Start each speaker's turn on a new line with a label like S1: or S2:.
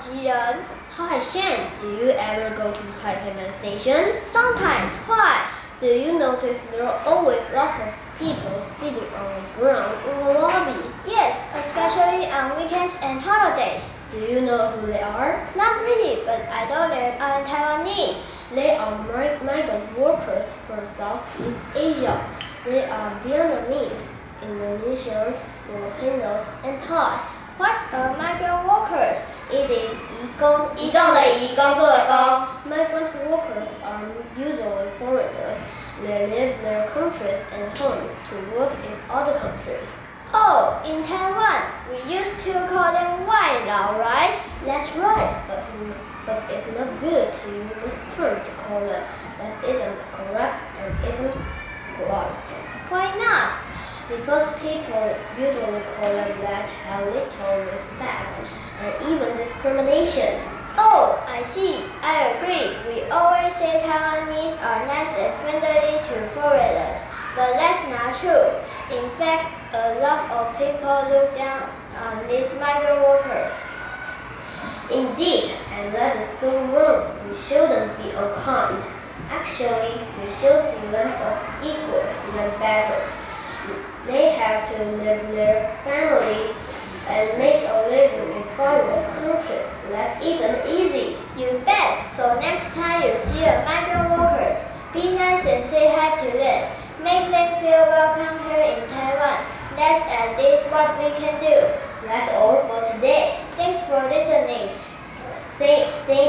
S1: 機人。
S2: Hi Shan, do you ever go to Taipei Station?
S1: Sometimes. Why?
S2: Do you notice there are always lots of people sitting on the ground in the lobby?
S1: Yes, especially on weekends and holidays.
S2: Do you know who they are?
S1: Not really, but I know they are Taiwanese.
S2: They are migrant workers from Southeast Asia. They are Vietnamese, Indonesians, Filipinos, and Thai.
S1: What's a migrant workers?
S2: It is 移工，移动的移，工作的工。Migrant workers are usually foreigners. They leave their countries and homes to work in other countries.
S1: Oh, in Taiwan, we used to call them 外勞, right?
S2: That's right, but it's not good to use this term to call them. That isn't correct and isn't polite.
S1: Why not?
S2: Because people usually call them that have little respect and even discrimination.
S1: Oh, I see. I agree. We always say Taiwanese are nice and friendly to foreigners, but that's not true. In fact, a lot of people look down on these migrant workers.
S2: Indeed, and that is so wrong. We shouldn't be unkind. Actually, we should see them as equals, even better. They have to live their family and make a living in foreign countries. That isn't easy.
S1: You bet. So next time you see a migrant workers, be nice and say hi to them. Make them feel welcome here in Taiwan. That's at least what we can do.
S2: That's all for today.
S1: Thanks for listening.
S2: Stay